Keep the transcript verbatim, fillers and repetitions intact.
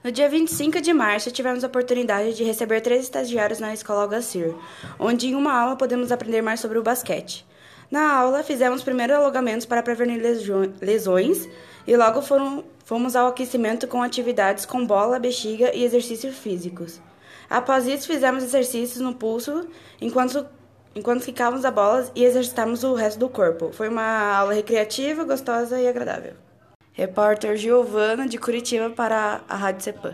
No dia vinte e cinco de março, tivemos a oportunidade de receber três estagiários na Escola Algacir, onde em uma aula podemos aprender mais sobre o basquete. Na aula, fizemos primeiro alongamentos para prevenir lesões e logo foram, fomos ao aquecimento com atividades com bola, bexiga e exercícios físicos. Após isso, fizemos exercícios no pulso enquanto, enquanto ficávamos a bola e exercitávamos o resto do corpo. Foi uma aula recreativa, gostosa e agradável. Repórter Giovana, de Curitiba, para a Rádio Cepan.